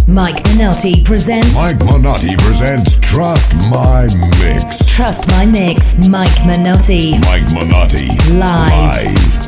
Mike Minotti presents Trust My Mix. Trust My Mix. Mike Minotti. Mike Minotti. Live.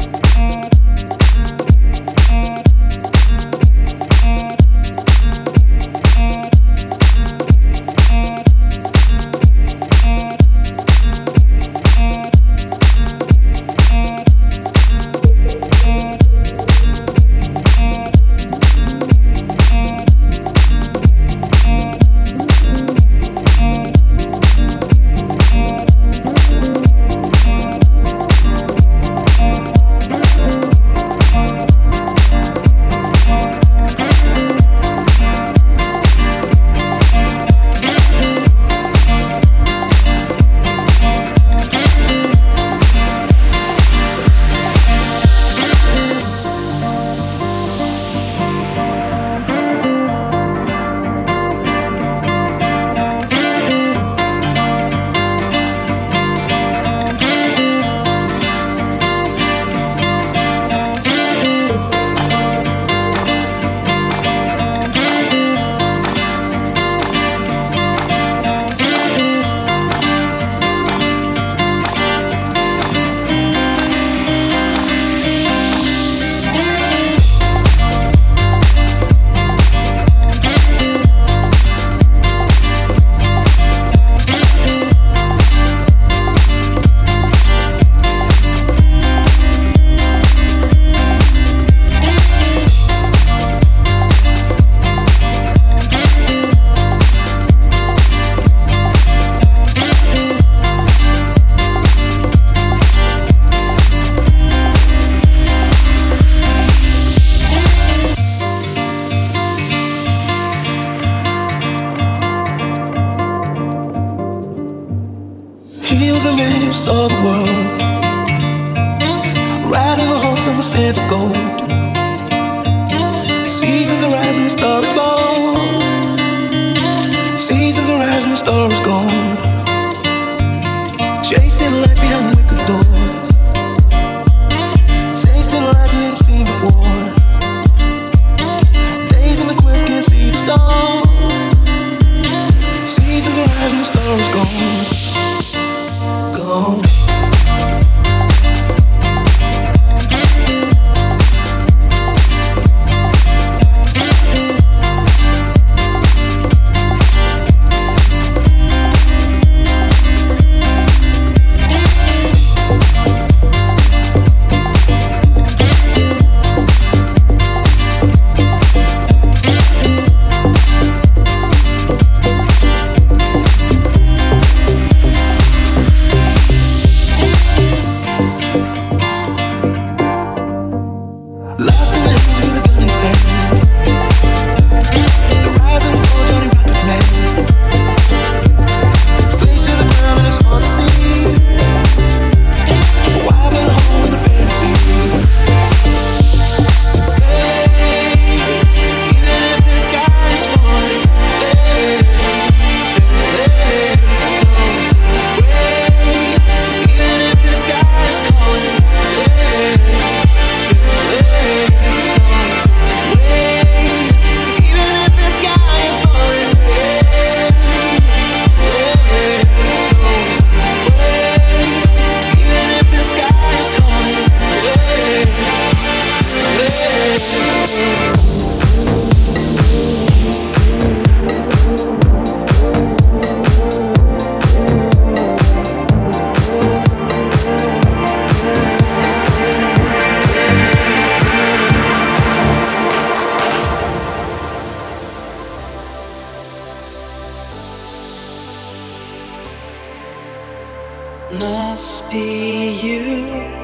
Must be you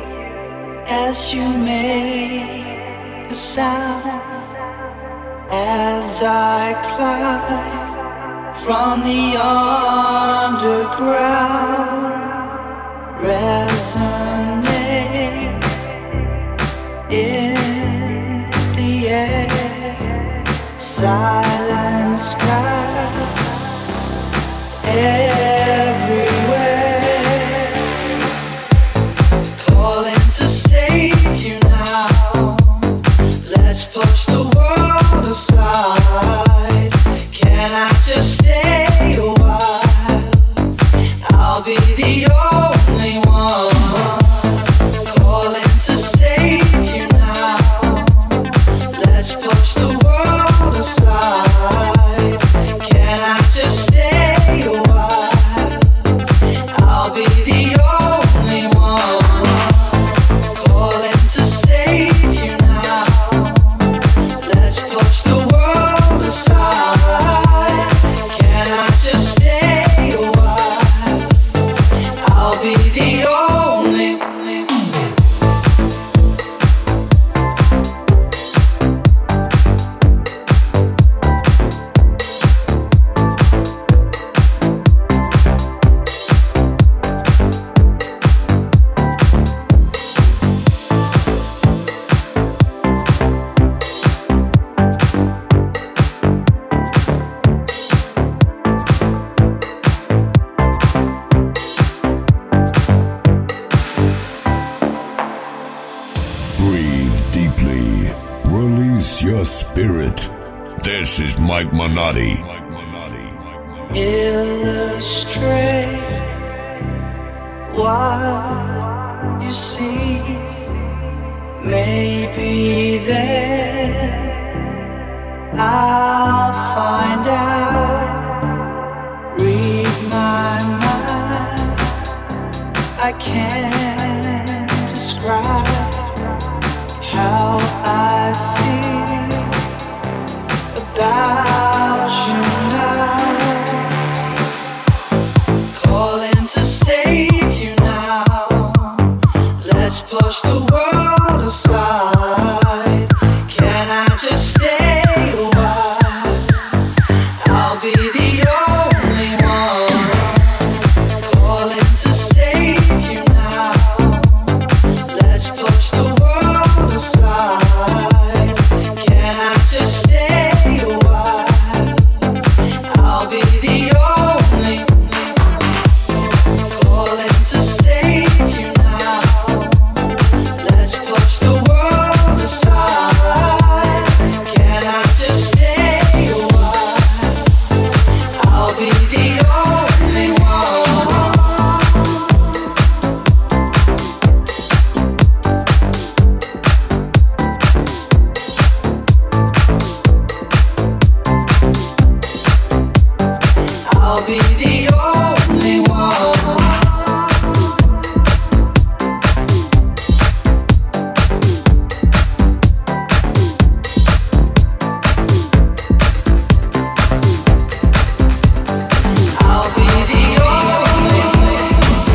as you make a sound as I climb from the underground. Resonate in the air, silent sky everywhere, calling to save you now. Let's push the world aside. spirit. This is Mike Minotti. Illustrate what you see. Maybe then I'll find out. Read my mind. I can't describe how I feel about you now. Calling to save you now. Let's push the world aside. Can I just stay a while? I'll be the only one. Calling to save you now. Let's push the world aside. Can I just stay a while? I'll be the only one. Calling to save you now. Let's push the world aside. Can I just stay a while? I'll be the only one. I'll be the only one. I'll be the only one.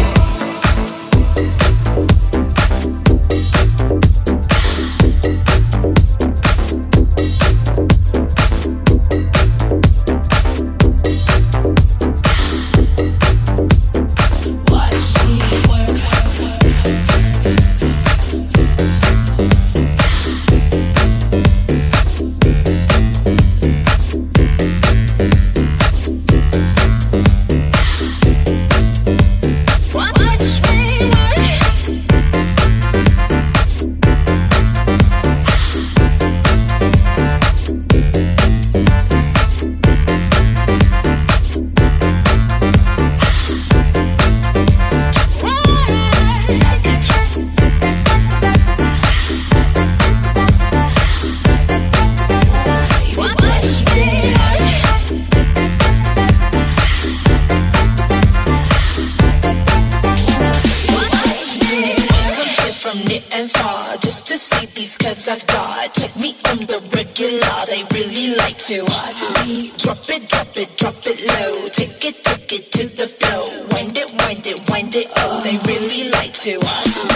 From near and far, just to see these curves I've got. Check me on the regular, they really like to watch me. Drop it, drop it, drop it low. Take it to the flow. Wind it, wind it, wind it, oh. They really like to watch me.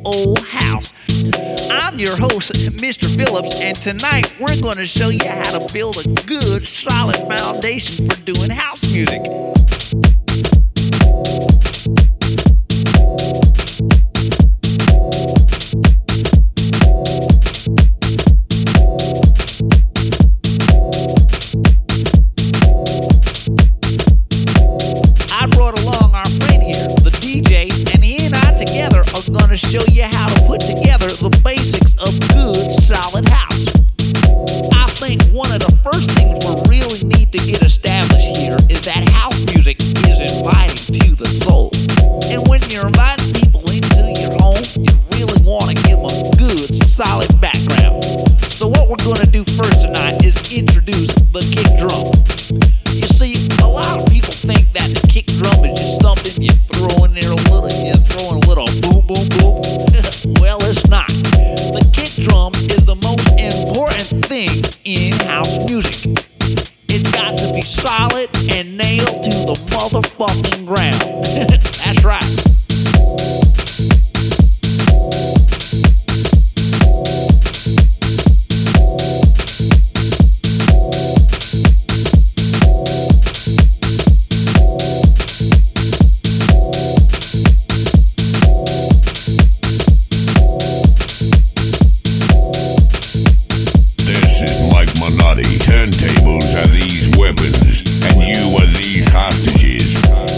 old house. I'm your host, Mr. Phillips, and tonight we're going to show you how to build a good, solid foundation for doing house music. I brought along our friend here, the DJ, and he and I together are going to show you how to put together the basics of good, solid house. I think one of the first things we really need to get established here is that house music is inviting to the soul. And when you're inviting people into your home, you really want to give them a good, solid background. So what we're going to do first tonight is introduce the kick drum. You see, a lot of people think that the kick drum is just something you throw in there a little, you throw in a little boom, boom, boom. Well, it's not. The kick drum is the most important thing in house music. It's got to be solid and nailed to the motherfucking ground. That's right. This is Mike Minotti. Turntables are these weapons, and you are these hostages.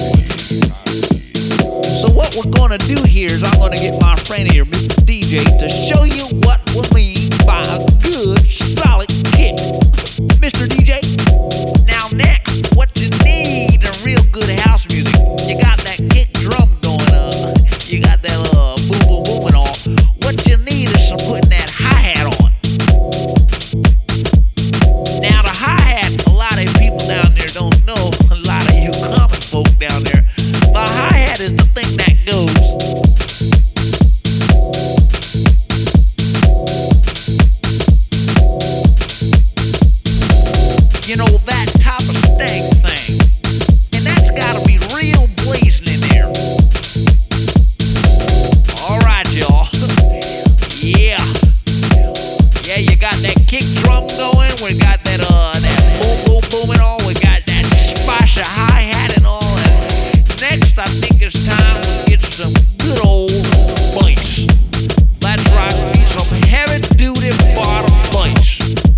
So what we're going to do here is I'm going to get my friend here, Mr. DJ, to show you what we mean by a good, solid kick. Mr. DJ, now next, what you need in real good house music, you got that kick drum going on, you got that boom, boom, boom and all. What you need is some putting that hi-hat on. Now the hi-hat, a lot of people down there don't know, a lot of you common folk down there, the hi-hat is the thing that goes. You know, that type of stank thing. And that's gotta be real blazing in there. Alright, y'all. Yeah. Yeah, you got that kick drum going. We got that boom, boom, boom and all. We got that spice of hi-hat and all. And next, I think it's time to get some good old bass. That's right, we need some heavy-duty bottom bass.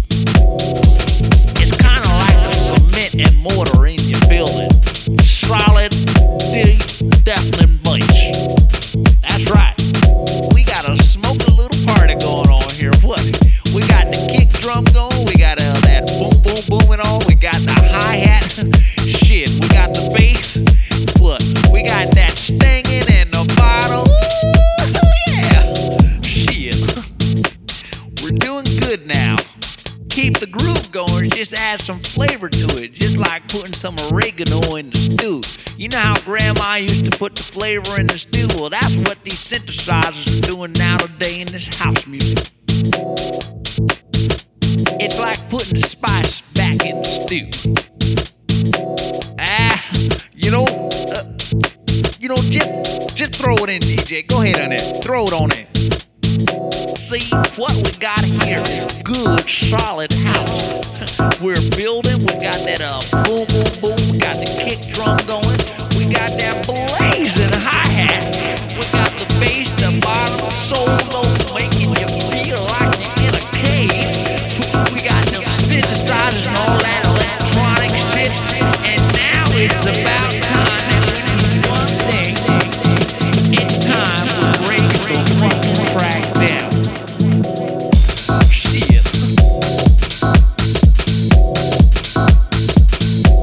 It's kind of like the cement and mortar in your building. Solid, deep, deafening bass. That's right. We got a smoky little party going on here. What? We got the kick drum going. We got that boom, boom, boom and all. We got the hi-hat. Shit, we got the bass. What? We got that stinging and the bottle. Ooh, yeah. Shit. We're doing good now. Keep the groove going, just add some flavor to it, just like putting some oregano in the stew. You know how grandma used to put the flavor in the stew? Well, that's what these synthesizers are doing nowadays in this house music. It's like putting the spice back in the stew. Just throw it in, DJ. Go ahead on it. Throw it on it. See, what we got here is good, solid house. We're building. We got that boom, boom, boom. We got the kick drum going. We got that blazing hi-hat. We got the bass, the bottom solo, making you feel like you're in a cave. We got them synthesizers and all that electronic shit. And now it's about time that we do one thing. It's time to break the fucking track down. Shit.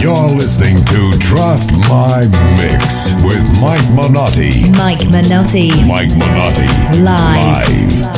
You're listening to Trust My Mix with Mike Minotti. Mike Minotti. Mike Minotti. Live.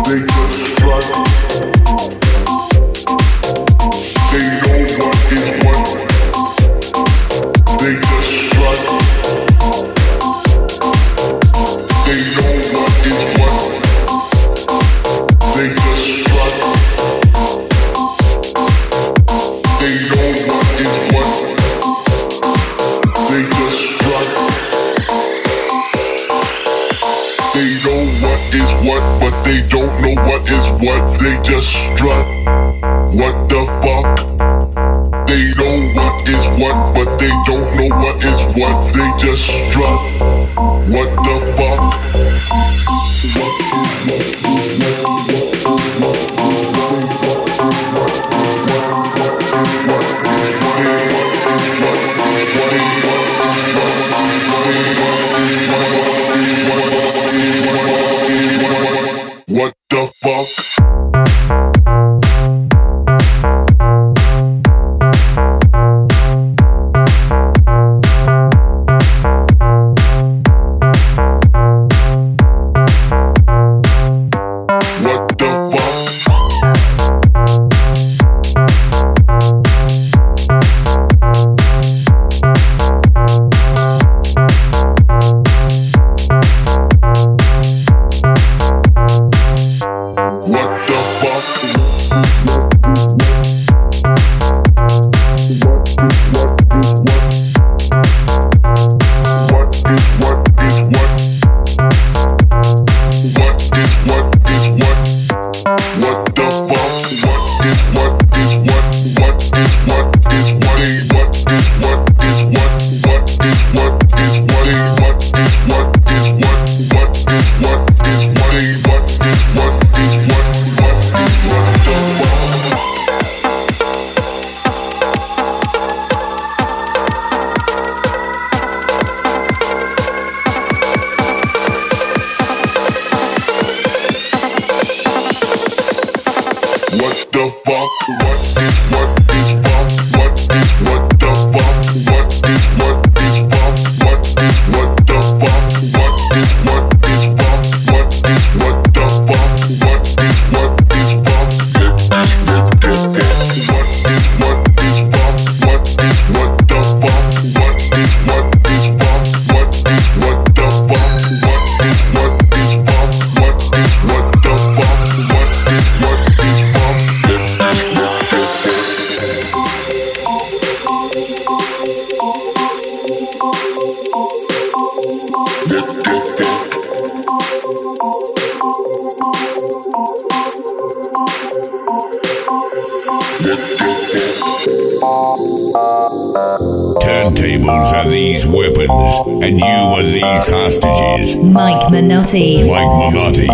Turntables are these weapons, and you are these hostages. Mike Minotti. Mike Minotti.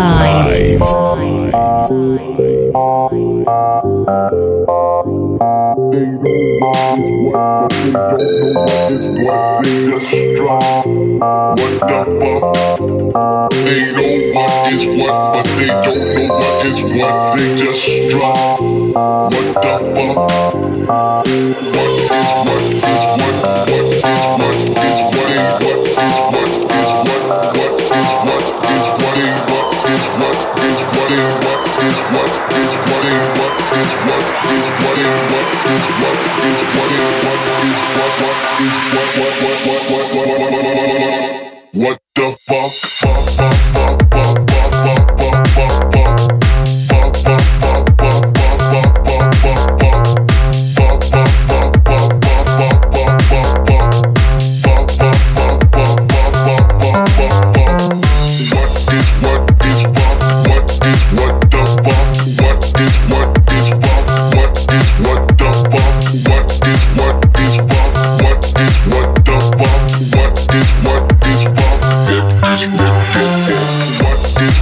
Live. They know what is what, but they don't know what is what. They just drop. What the fuck? What is what is what? What is what is what? What is what is what? What is what is what? What is what is what? What is what is what? What is what is what? What is what is what? What the fuck? What is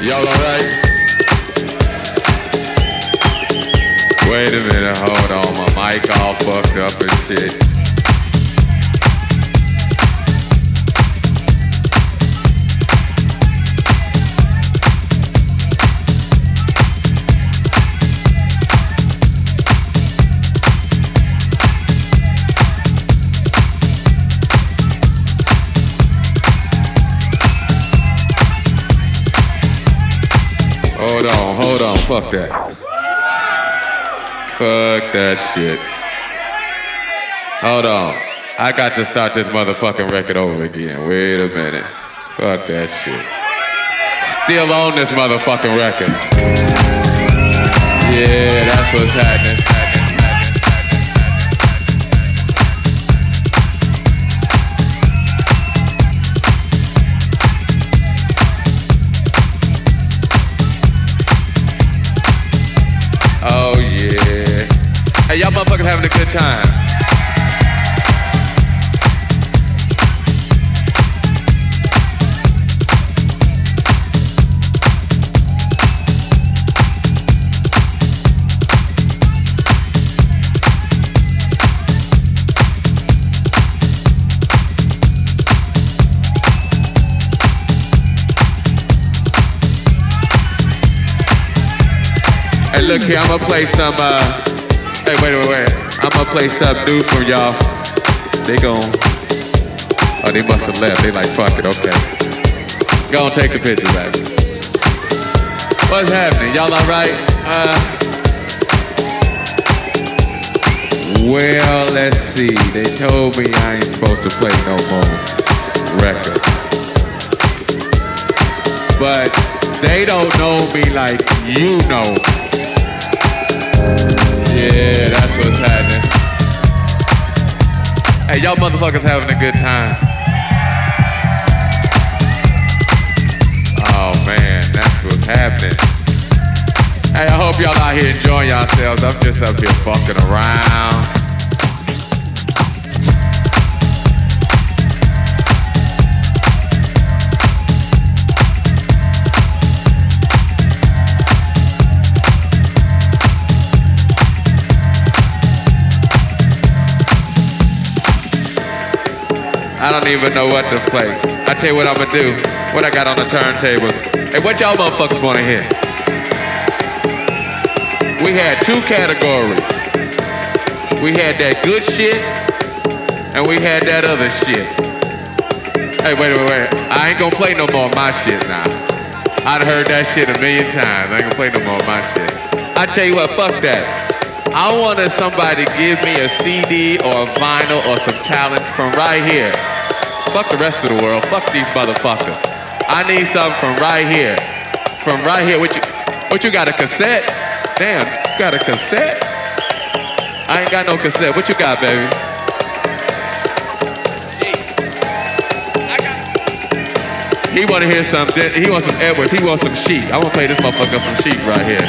Y'all alright? Wait a minute, hold on. My mic all fucked up and shit. Hold on, fuck that. Fuck that shit. Hold on. I got to start this motherfucking record over again. Wait a minute. Fuck that shit. Still on this motherfucking record. Yeah, that's what's happening. Oh yeah. Hey, y'all motherfuckers having a good time. Hey, look here, I'ma play some, hey, wait. I'ma play some news from y'all. They oh, they must have left. They like, fuck it, okay. Go and take the picture back. What's happening? Y'all alright? Well, let's see. They told me I ain't supposed to play no more records. But they don't know me like you know. Yeah, that's what's happening. Hey, y'all motherfuckers having a good time. Oh man, that's what's happening. Hey, I hope y'all out here enjoying yourselves. I'm just up here fucking around. I don't even know what to play. I tell you what I'ma do. What I got on the turntables. Hey, what y'all motherfuckers wanna hear? We had two categories. We had that good shit, and we had that other shit. Hey, wait. I ain't gonna play no more of my shit now. I'd heard that shit a million times. I ain't gonna play no more of my shit. I tell you what, fuck that. I wanted somebody to give me a CD or a vinyl or some talent from right here. Fuck the rest of the world. Fuck these motherfuckers. I need something from right here. From right here. What you got, a cassette? Damn, you got a cassette? I ain't got no cassette. What you got, baby? He wanna hear something. He wants some Edwards. He wants some Sheep. I wanna play this motherfucker some Sheep right here.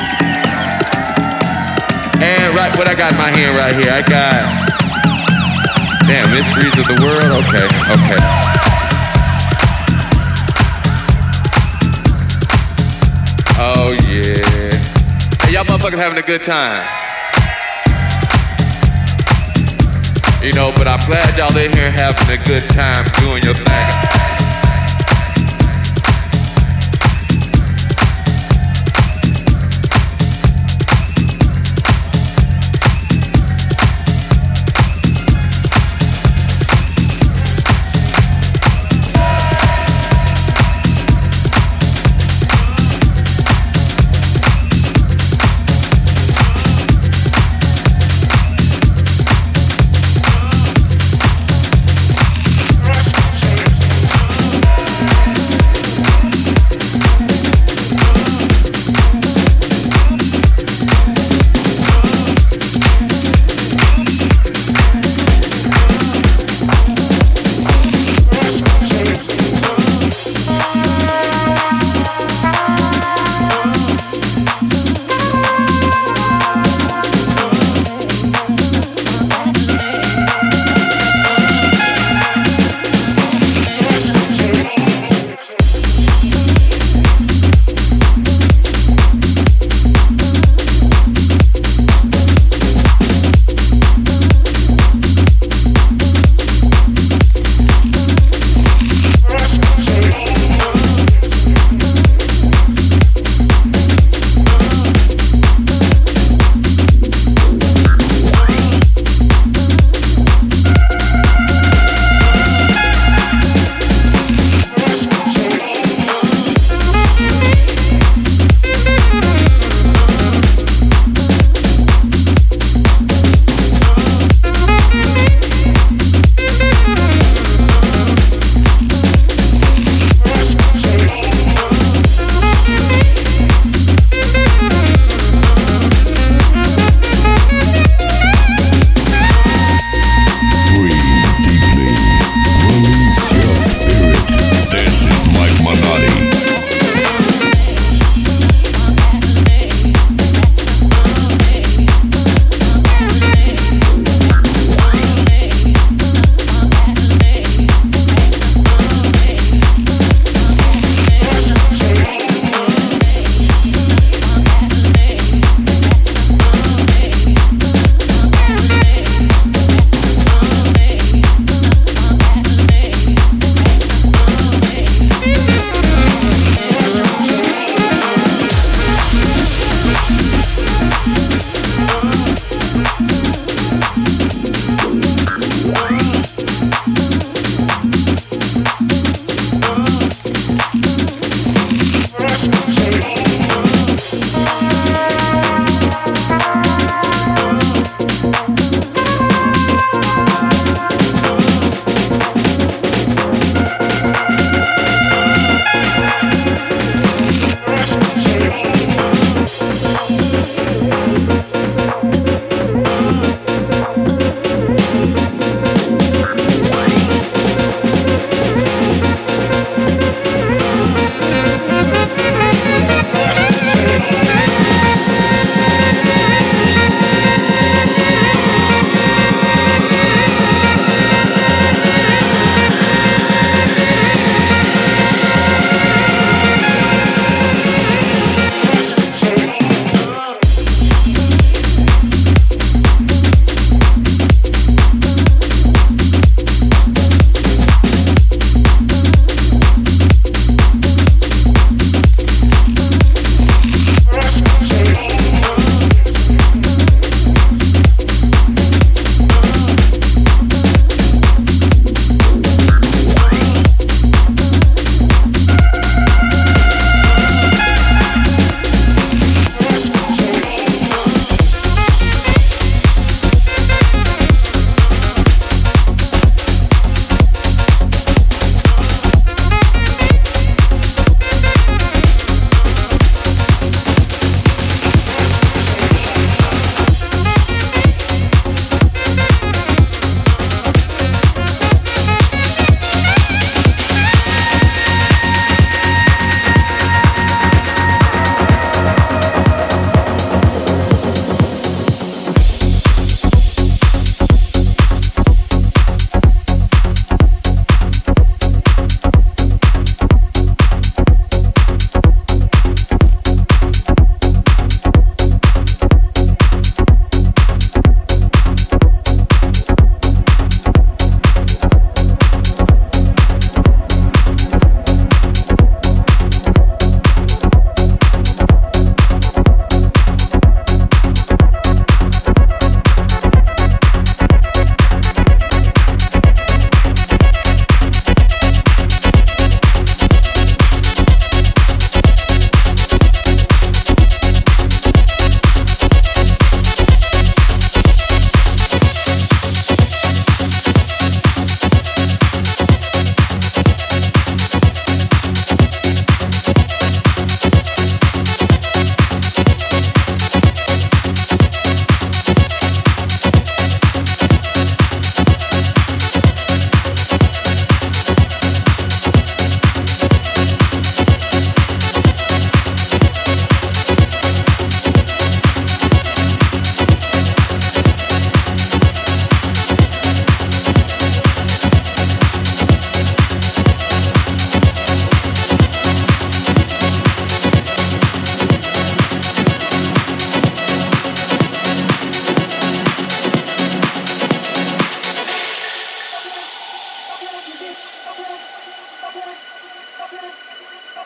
And right, what I got in my hand right here, I got, damn, Mysteries of the World, okay. Oh yeah. Hey, y'all motherfuckers having a good time. You know, but I'm glad y'all in here having a good time doing your thing.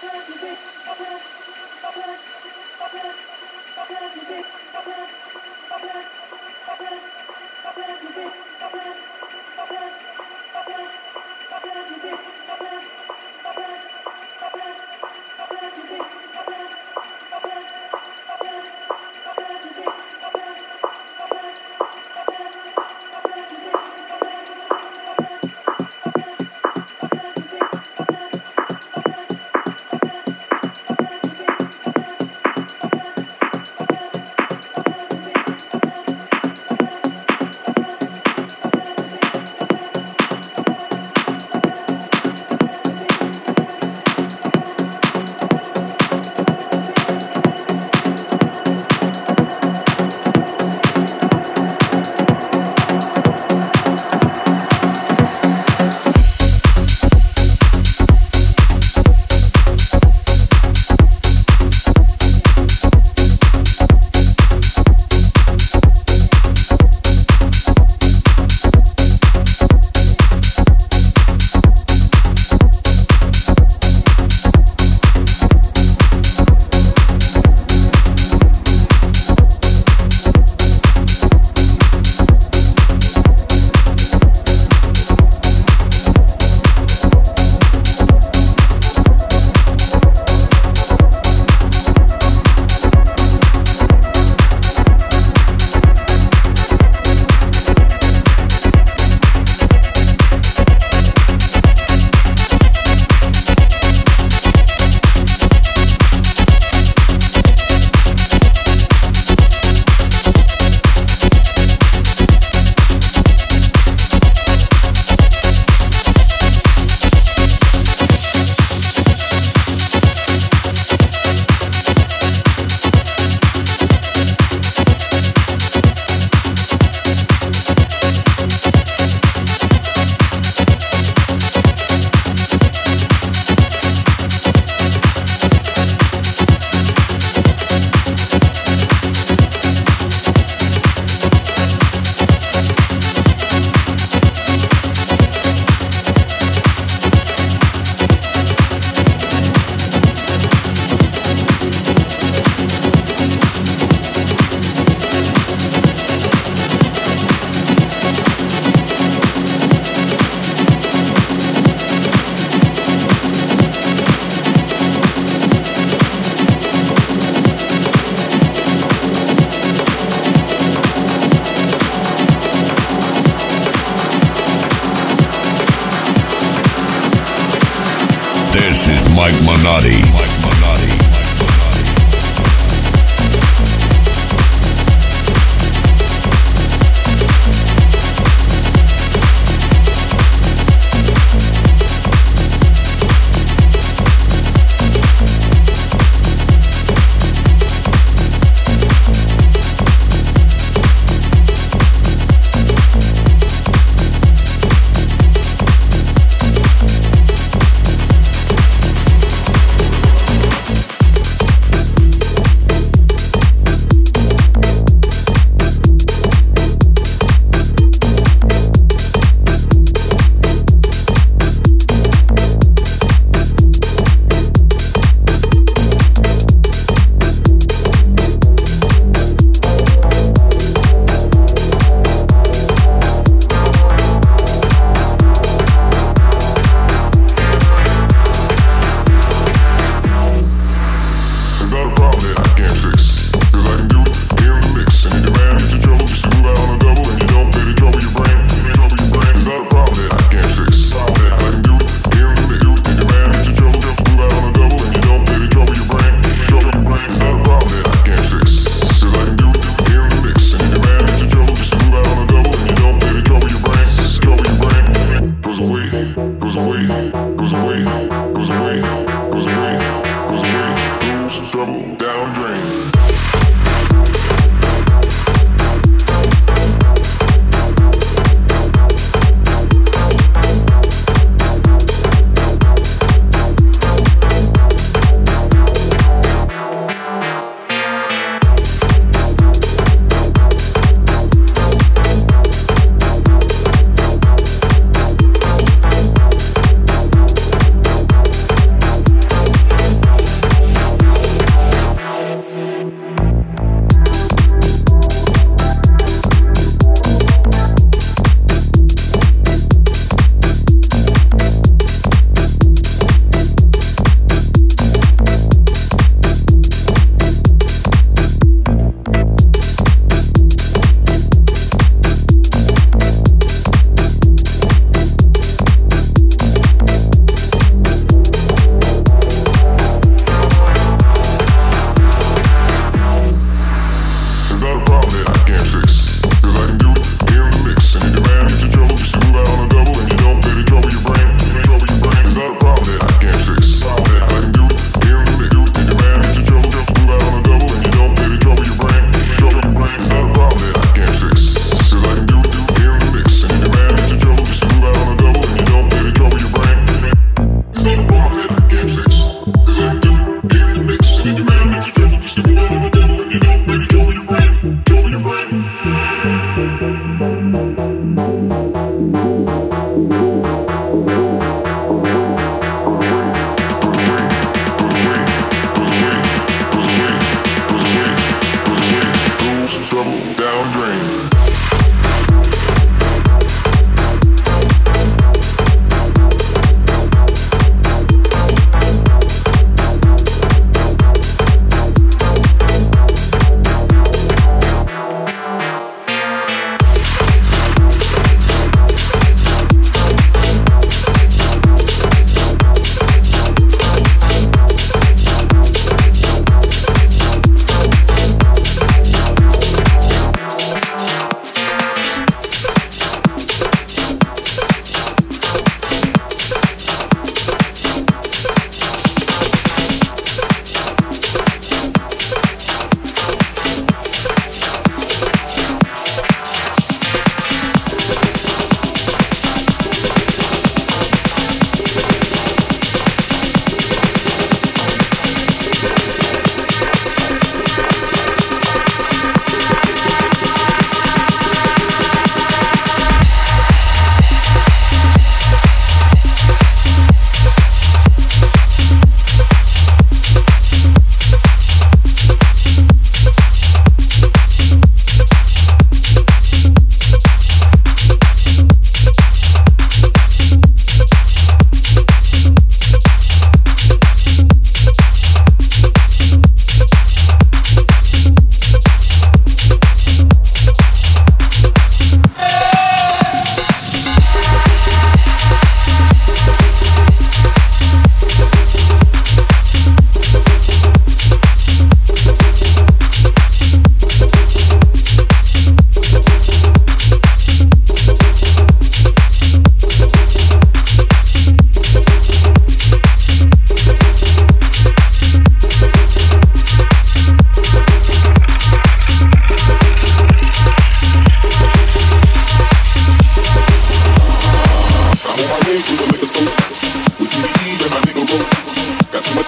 This is Mike Minotti.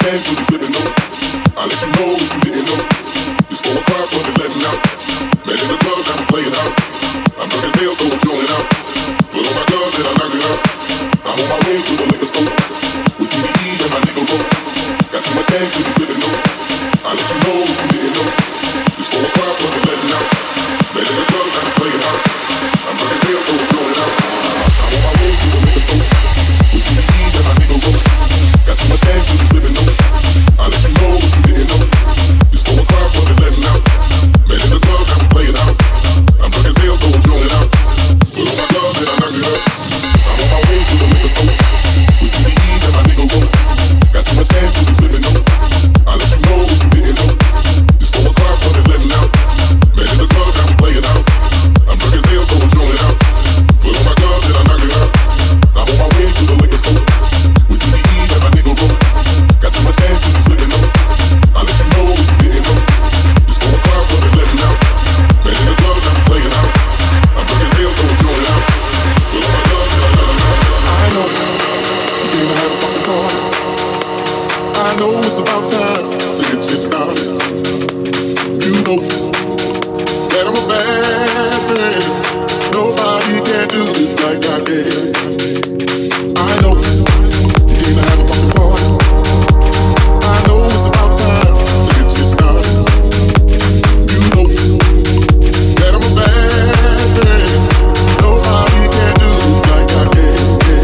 stand till we slipping low. I'll let you know if you didn't know. It's 4 o'clock, but it's letting out. Man in the club, now I'm playing house. I'm drunk as hell, so I'm showing out. Put on my glove, then I knock it out. I'm on my way to the liquor store. With TDE and my nigga Roll. Got too much stand till we slipping low. I'll let you know if you didn't know. It's 4 o'clock, but it's letting out. Man in the club, now I'm playing house. I'm drunk as hell, so I'm showing out. I'm on my way to the liquor store. With TDE and my nigga Roll. Got too much stand till we slipping low. I'll let you know if you didn't know. It's 4 o'clock, but it's letting out. Man in the club, now I'm playing house. I'm drunk as hell, so I'm showing out. Put on my glove, then I knock it out. I'm on my way to the liquor store. With TDE and my nigga Roll. Got too much stand till we slipping low. I'll let you know if you didn't know. It's 4 o'clock, but it's letting out. Man in the club, now I'm playing house. I'm drunk as hell, so I'm showing out. Put on my glove, then I knock it out. I'm on my way to the liquor store. With TDE and my nigga Roll. Got too much stand till we slipping low. I'll let you know if you didn't know. It's 4 o'clock, but it's letting out. Man in the club, now I'm playing house. I'm drunk as hell, so I'm showing out. Put on my glove, then I knock it out. I know you came to have a fucking party. I know it's about time to get shit started. You know that I'm a bad man. Nobody can do this like I can. I know you came to have a fucking party. I know it's about time to get shit started. You know that I'm a bad man. Nobody can do this like I can.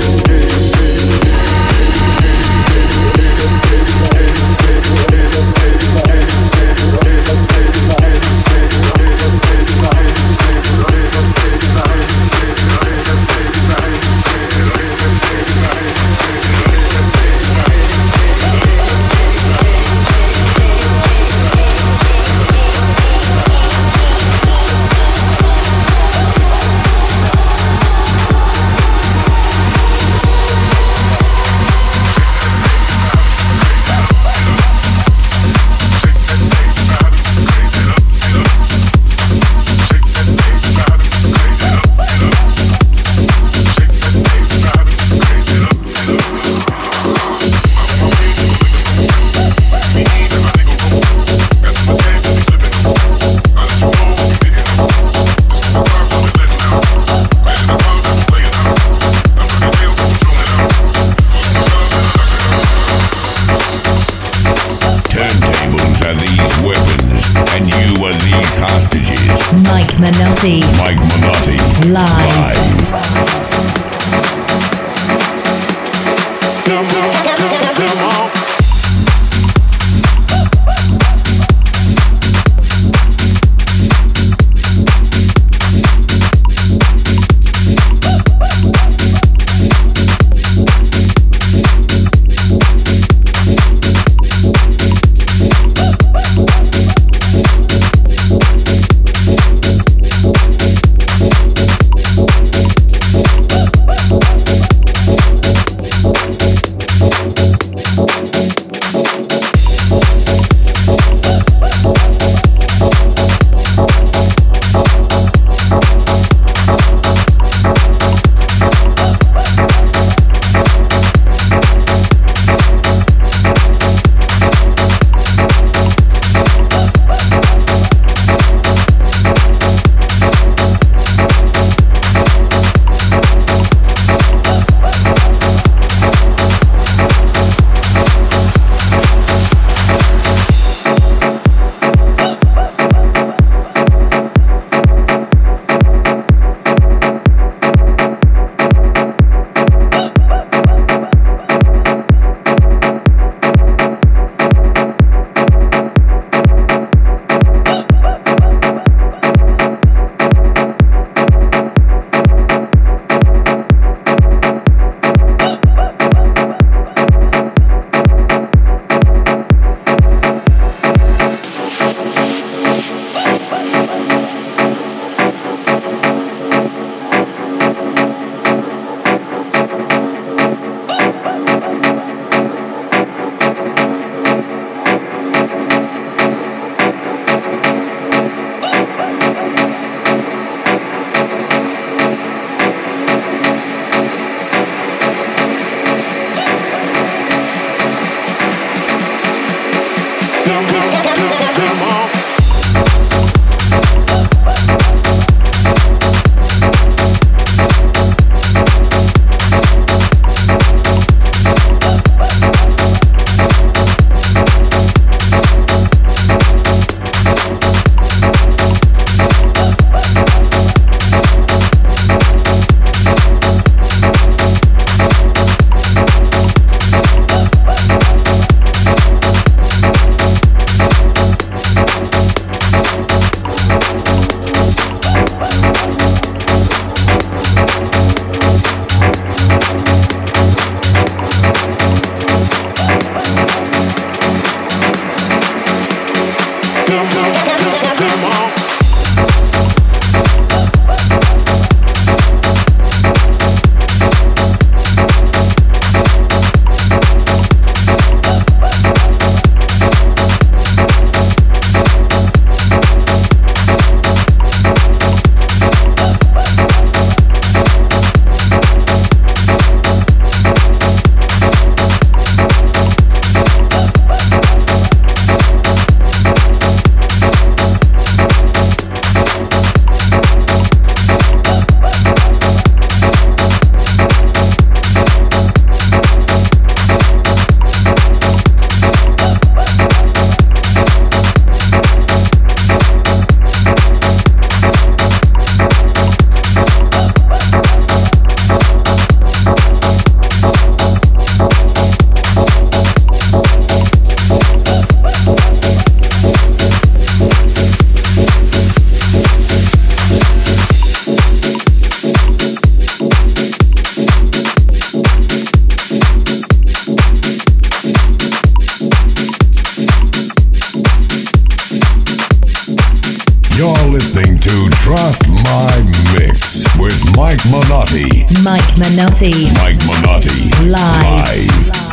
Mike Minotti. Mike Minotti. Live. Come on. listening to Trust My Mix with Mike Minotti. Mike Minotti. Mike Minotti. Live.